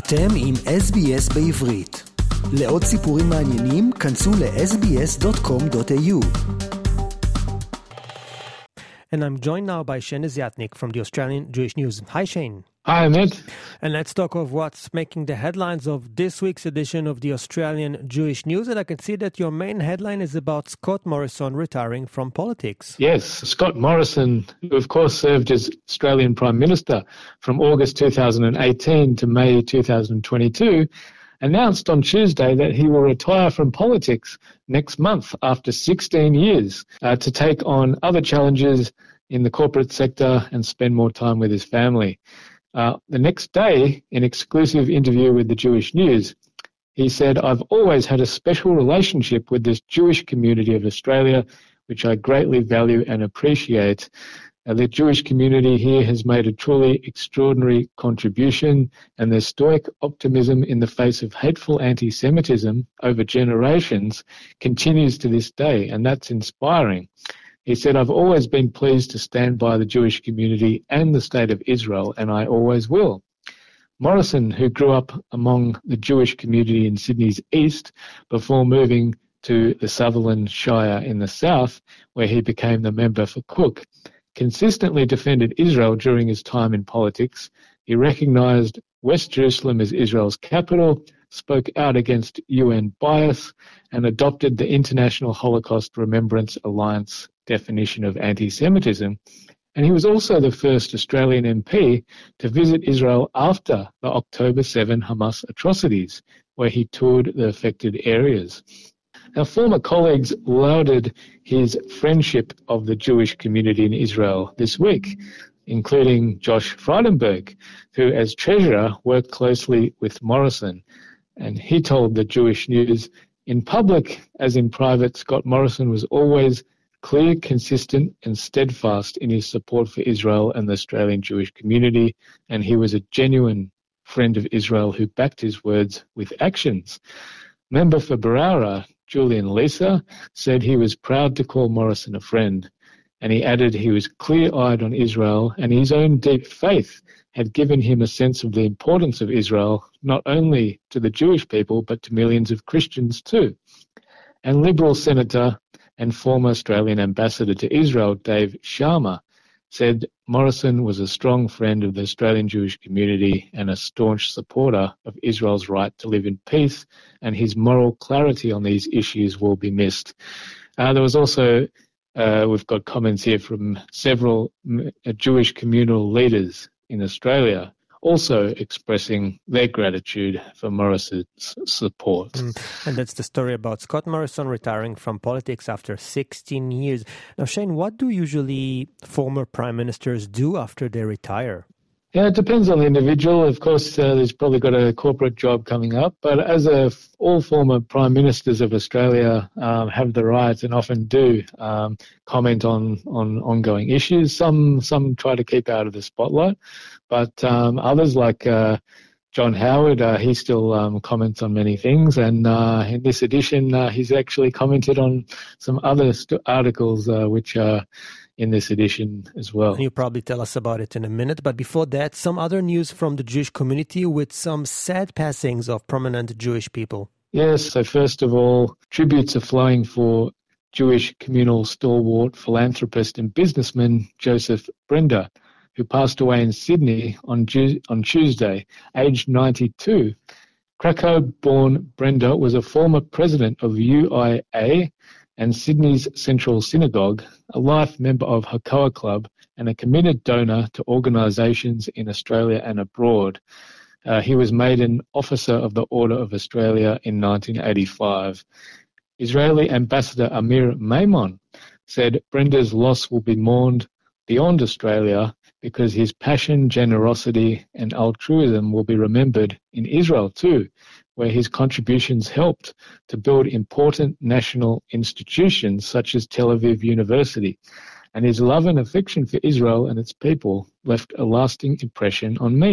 אתם עם SBS בעברית. לעוד סיפורים מעניינים, כנסו ל-sbs.com.au. And I'm joined now by Shane Zyatnik from the Australian Jewish News. Hi, Shane. Hi, Amit. And let's talk of what's making the headlines of this week's edition of the Australian Jewish News. And I can see that your main headline is about Scott Morrison retiring from politics. Yes, Scott Morrison, who of course served as Australian Prime Minister from August 2018 to May 2022, announced on Tuesday that he will retire from politics next month after 16 years to take on other challenges in the corporate sector and spend more time with his family. The next day, in an exclusive interview with the Jewish News, he said, "I've always had a special relationship with this Jewish community of Australia, which I greatly value and appreciate. The Jewish community here has made a truly extraordinary contribution, and their stoic optimism in the face of hateful anti-Semitism over generations continues to this day, and that's inspiring." He said, "I've always been pleased to stand by the Jewish community and the State of Israel, and I always will." Morrison, who grew up among the Jewish community in Sydney's east before moving to the Sutherland Shire in the south, where he became the member for Cook, consistently defended Israel during his time in politics. He recognised West Jerusalem as Israel's capital, spoke out against UN bias, and adopted the International Holocaust Remembrance Alliance definition of anti-Semitism. And he was also the first Australian MP to visit Israel after the October 7 Hamas atrocities, where he toured the affected areas. Now, former colleagues lauded his friendship of the Jewish community in Israel this week, including Josh Frydenberg, who as treasurer worked closely with Morrison. And he told the Jewish News, "In public as in private, Scott Morrison was always clear, consistent and steadfast in his support for Israel and the Australian Jewish community, and he was a genuine friend of Israel who backed his words with actions." Member for Barara, Julian Lisa, said he was proud to call Morrison a friend, and he added he was clear-eyed on Israel, and his own deep faith had given him a sense of the importance of Israel, not only to the Jewish people, but to millions of Christians too. And Liberal Senator and former Australian Ambassador to Israel, Dave Sharma, said Morrison was a strong friend of the Australian Jewish community and a staunch supporter of Israel's right to live in peace, and his moral clarity on these issues will be missed. There was also, we've got comments here from several Jewish communal leaders in Australia also expressing their gratitude for Morrison's support. And that's the story about Scott Morrison retiring from politics after 16 years. Now, Shane, what do usually former prime ministers do after they retire? Yeah, it depends on the individual. Of course, there's probably got a corporate job coming up, but as all former prime ministers of Australia have the right and often do comment on ongoing issues. Some try to keep out of the spotlight, but others like John Howard, he still comments on many things, and in this edition, he's actually commented on some other articles which are in this edition as well. And you'll probably tell us about it in a minute, but before that, some other news from the Jewish community with some sad passings of prominent Jewish people. Yes, so first of all, tributes are flowing for Jewish communal stalwart, philanthropist and businessman Joseph Brenda, who passed away in Sydney on Tuesday, aged 92. Krakow-born Brenda was a former president of UIA and Sydney's Central Synagogue, a life member of Hakoah Club, and a committed donor to organisations in Australia and abroad. He was made an Officer of the Order of Australia in 1985. Israeli Ambassador Amir Maimon said Brenda's loss will be mourned beyond Australia because his passion, generosity and altruism will be remembered in Israel too, where his contributions helped to build important national institutions such as Tel Aviv University, and his love and affection for Israel and its people left a lasting impression on me.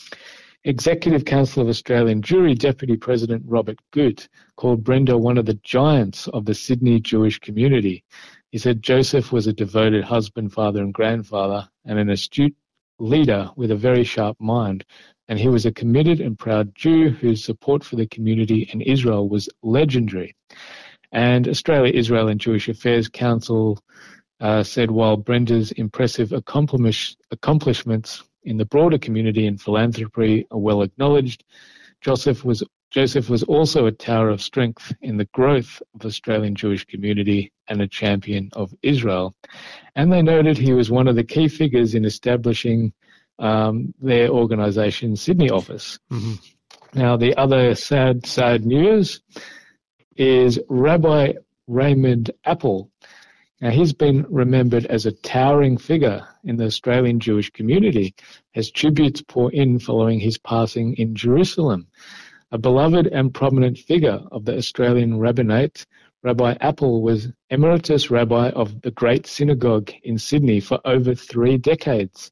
Executive Council of Australian Jewry Deputy President Robert Goot called Brenda one of the giants of the Sydney Jewish community. He said Joseph was a devoted husband, father and grandfather, and an astute leader with a very sharp mind, and he was a committed and proud Jew whose support for the community and Israel was legendary. And Australia, Israel and Jewish Affairs Council said while Brenda's impressive accomplishments in the broader community and philanthropy are well acknowledged, Joseph was also a tower of strength in the growth of the Australian Jewish community and a champion of Israel. And they noted he was one of the key figures in establishing their organisation's Sydney office. Mm-hmm. Now, the other sad news is Rabbi Raymond Apple. Now, he's been remembered as a towering figure in the Australian Jewish community as tributes pour in following his passing in Jerusalem. A beloved and prominent figure of the Australian rabbinate, Rabbi Apple was emeritus rabbi of the Great Synagogue in Sydney for over 3 decades.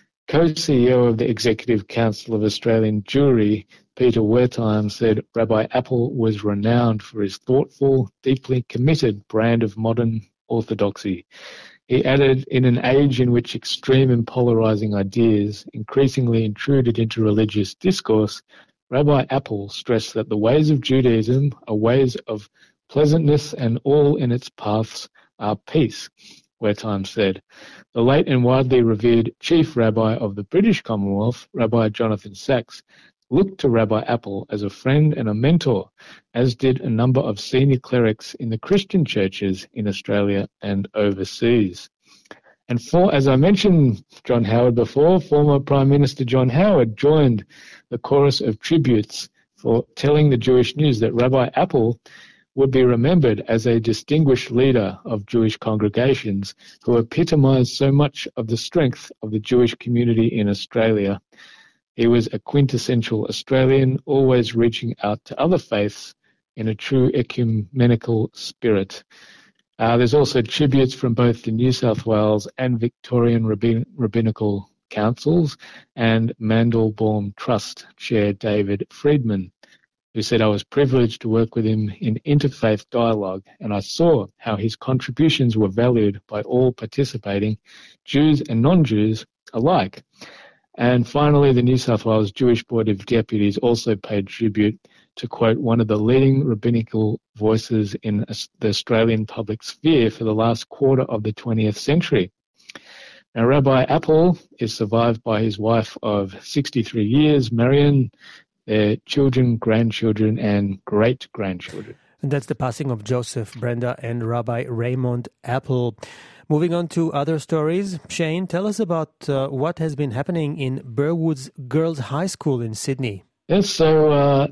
Co-CEO of the Executive Council of Australian Jewry, Peter Wertheim, said Rabbi Apple was renowned for his thoughtful, deeply committed brand of modern orthodoxy. He added, in an age in which extreme and polarizing ideas increasingly intruded into religious discourse, Rabbi Apple stressed that the ways of Judaism are ways of pleasantness and all in its paths are peace, Wertheim said. The late and widely revered chief rabbi of the British Commonwealth, Rabbi Jonathan Sacks, looked to Rabbi Apple as a friend and a mentor, as did a number of senior clerics in the Christian churches in Australia and overseas. And as I mentioned John Howard before, former Prime Minister John Howard joined the chorus of tributes for telling the Jewish News that Rabbi Apple would be remembered as a distinguished leader of Jewish congregations who epitomised so much of the strength of the Jewish community in Australia. He was a quintessential Australian, always reaching out to other faiths in a true ecumenical spirit. There's also tributes from both the New South Wales and Victorian Rabbinical Councils and Mandelbaum Trust Chair David Friedman, who said, I was privileged to work with him in interfaith dialogue, and I saw how his contributions were valued by all participating, Jews and non-Jews alike. And finally, the New South Wales Jewish Board of Deputies also paid tribute to quote one of the leading rabbinical voices in the Australian public sphere for the last quarter of the 20th century. Now, Rabbi Apple is survived by his wife of 63 years, Marion, their children, grandchildren, and great-grandchildren. And that's the passing of Joseph, Brenda, and Rabbi Raymond Apple. Moving on to other stories, Shane, tell us about what has been happening in Burwood's Girls High School in Sydney. Yes, so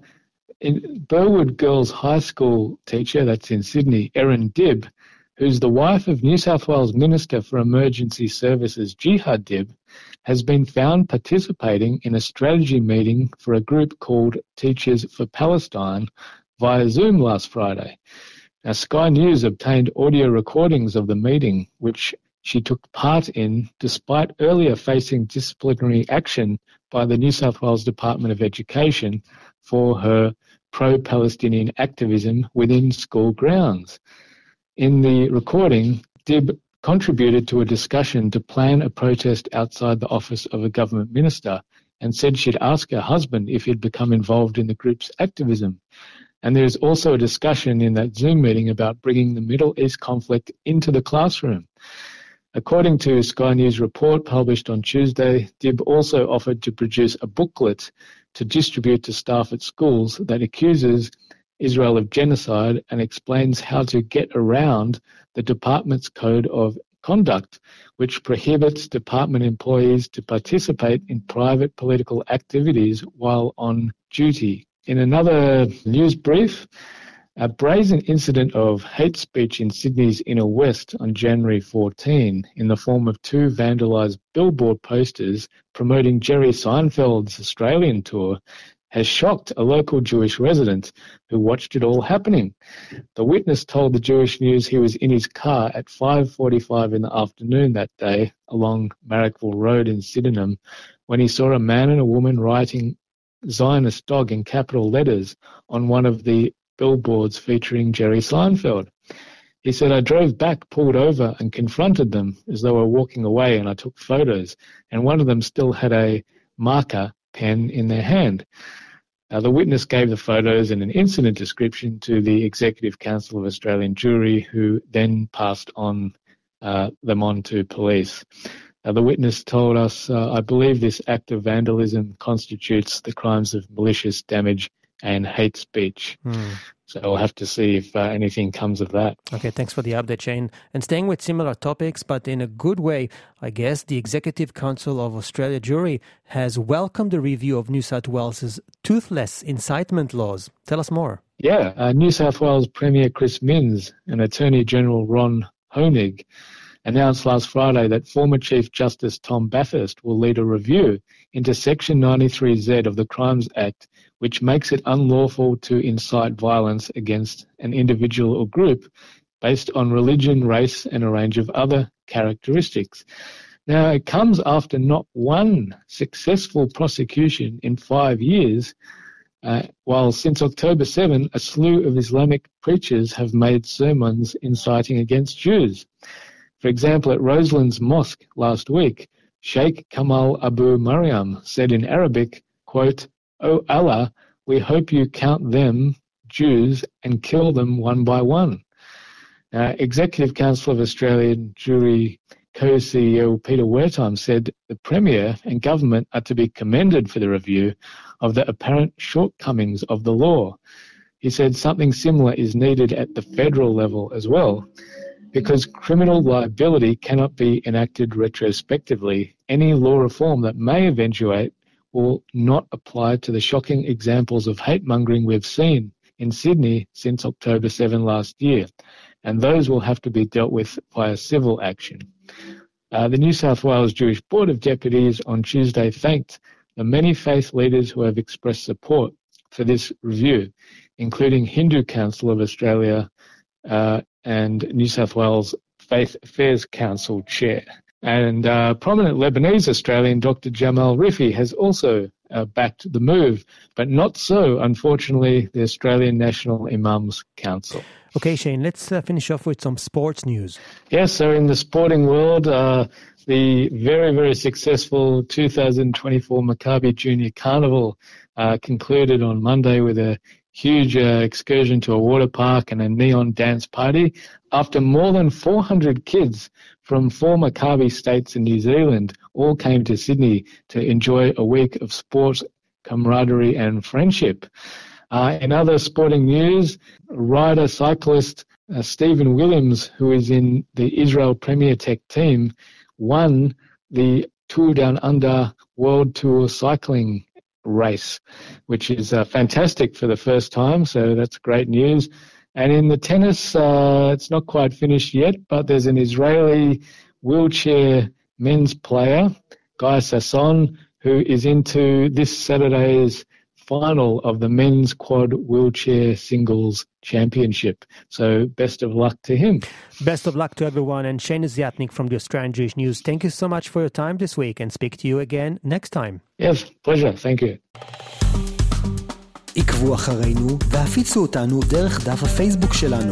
in Burwood Girls High School teacher, that's in Sydney, Erin Dibb, who's the wife of New South Wales Minister for Emergency Services, Jihad Dibb, has been found participating in a strategy meeting for a group called Teachers for Palestine via Zoom last Friday. Now, Sky News obtained audio recordings of the meeting, which she took part in despite earlier facing disciplinary action by the New South Wales Department of Education for her pro-Palestinian activism within school grounds. In the recording, Dibb contributed to a discussion to plan a protest outside the office of a government minister and said she'd ask her husband if he'd become involved in the group's activism. And there is also a discussion in that Zoom meeting about bringing the Middle East conflict into the classroom. According to Sky News report published on Tuesday, Dibb also offered to produce a booklet to distribute to staff at schools that accuses Israel of genocide and explains how to get around the department's code of conduct, which prohibits department employees to participate in private political activities while on duty. In another news brief, a brazen incident of hate speech in Sydney's Inner West on January 14 in the form of 2 vandalised billboard posters promoting Jerry Seinfeld's Australian tour has shocked a local Jewish resident who watched it all happening. The witness told the Jewish News he was in his car at 5:45 in the afternoon that day along Marrickville Road in Sydenham when he saw a man and a woman writing Zionist dog in capital letters on one of the billboards featuring Jerry Seinfeld. He said, I drove back, pulled over and confronted them as they were walking away, and I took photos, and one of them still had a marker pen in their hand. The witness gave the photos and an incident description to the Executive Council of Australian Jewry, who then passed them on to police. The witness told us, I believe this act of vandalism constitutes the crimes of malicious damage and hate speech. So we'll have to see if anything comes of that. Okay, thanks for the update, Shane. And staying with similar topics, but in a good way, I guess, the Executive Council of Australia Jewry has welcomed the review of New South Wales' toothless incitement laws. Tell us more. Yeah, New South Wales Premier Chris Minns and Attorney General Ron Honig announced last Friday that former Chief Justice Tom Bathurst will lead a review into Section 93Z of the Crimes Act, which makes it unlawful to incite violence against an individual or group based on religion, race, and a range of other characteristics. Now, it comes after not one successful prosecution in 5 years, while since October 7, a slew of Islamic preachers have made sermons inciting against Jews. For example, at Roselands Mosque last week, Sheikh Kamal Abu Maryam said in Arabic, quote, "O Allah, we hope you count them, Jews, and kill them one by one." Executive Council of Australian Jewry co-CEO Peter Wertheim said the Premier and government are to be commended for the review of the apparent shortcomings of the law. He said something similar is needed at the federal level as well. Because criminal liability cannot be enacted retrospectively, any law reform that may eventuate will not apply to the shocking examples of hate-mongering we've seen in Sydney since October 7 last year, and those will have to be dealt with via civil action. The New South Wales Jewish Board of Deputies on Tuesday thanked the many faith leaders who have expressed support for this review, including Hindu Council of Australia and New South Wales Faith Affairs Council Chair. And prominent Lebanese Australian Dr. Jamal Rifi has also backed the move, but not so, unfortunately, the Australian National Imams Council. Okay, Shane, let's finish off with some sports news. Yes, so in the sporting world, the very, very successful 2024 Maccabi Junior Carnival concluded on Monday with a huge excursion to a water park and a neon dance party after more than 400 kids from 4 Maccabi states in New Zealand all came to Sydney to enjoy a week of sport, camaraderie and friendship. In other sporting news, rider-cyclist Stephen Williams, who is in the Israel Premier Tech team, won the Tour Down Under World Tour cycling race, which is fantastic for the first time, so that's great news. And in the tennis, it's not quite finished yet, but there's an Israeli wheelchair men's player, Guy Sasson, who is into this Saturday's final of the men's quad wheelchair singles championship. So best of luck to him. Best of luck to everyone. And Shane Ziatnik from the Australian Jewish News, thank you so much for your time this week, and speak to you again next time. Yes, pleasure. Thank you. עקבו אחרינו והפיצו אותנו דרך דף הפייסבוק שלנו.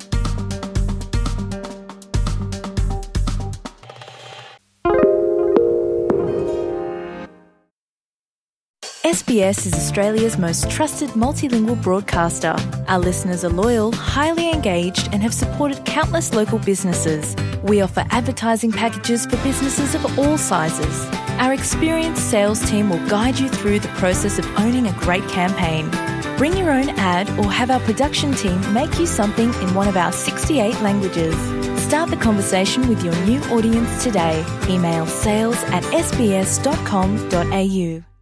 SBS is Australia's most trusted multilingual broadcaster. Our listeners are loyal, highly engaged, and have supported countless local businesses. We offer advertising packages for businesses of all sizes. Our experienced sales team will guide you through the process of owning a great campaign. Bring your own ad or have our production team make you something in one of our 68 languages. Start the conversation with your new audience today. Email sales@sbs.com.au.